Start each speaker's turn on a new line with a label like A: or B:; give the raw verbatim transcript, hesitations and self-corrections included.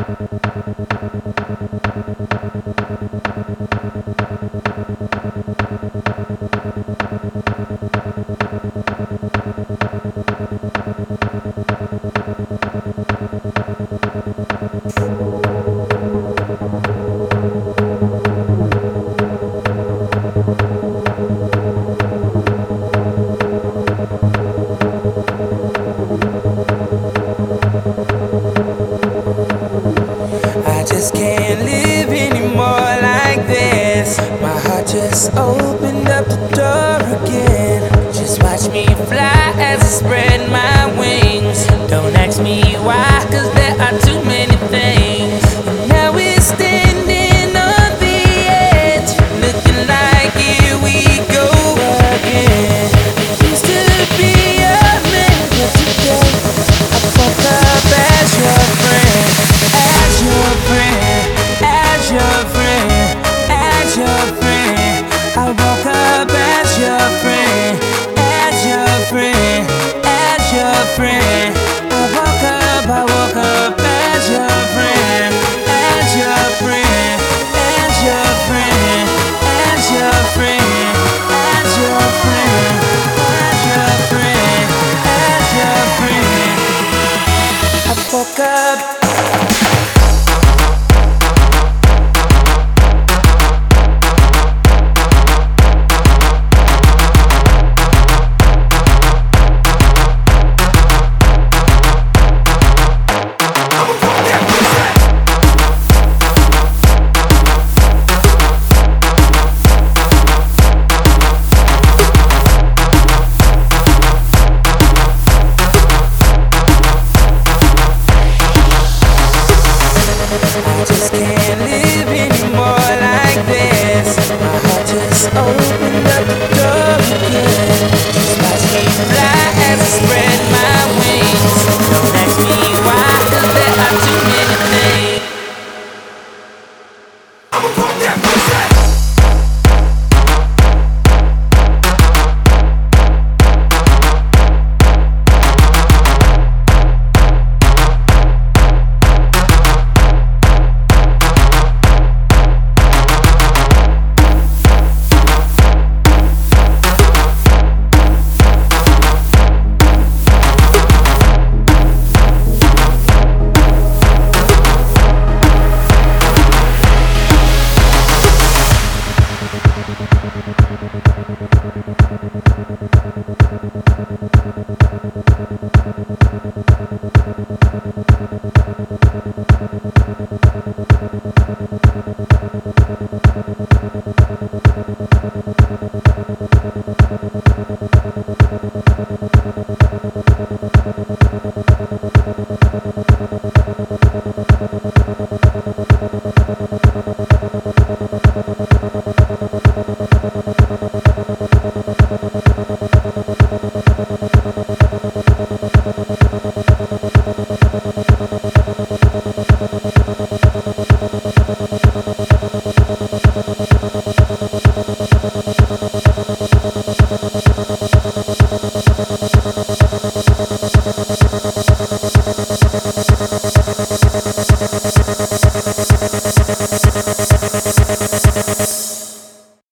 A: I just can't live anymore like this. My heart just opened up the door again. Just watch me fly as I spread my wings. Don't ask me why, cause there are too many things. And now we're standing on the edge, looking like here we go again. Used to be a man, but today I fuck up as your friend. As your friend, as your friend, as your friend. I woke up as your friend, as your friend, as your friend. I woke up, I woke up as your friend, as your friend, as your friend, as your friend, as your friend, as your friend, as your friend. I woke up. I just can't live anymore like this. My heart just opened up the door again. Just watch me fly as I spread my wings. Don't ask me why, cause there are too many things. I'ma pump that pussy.
B: We'll be right back.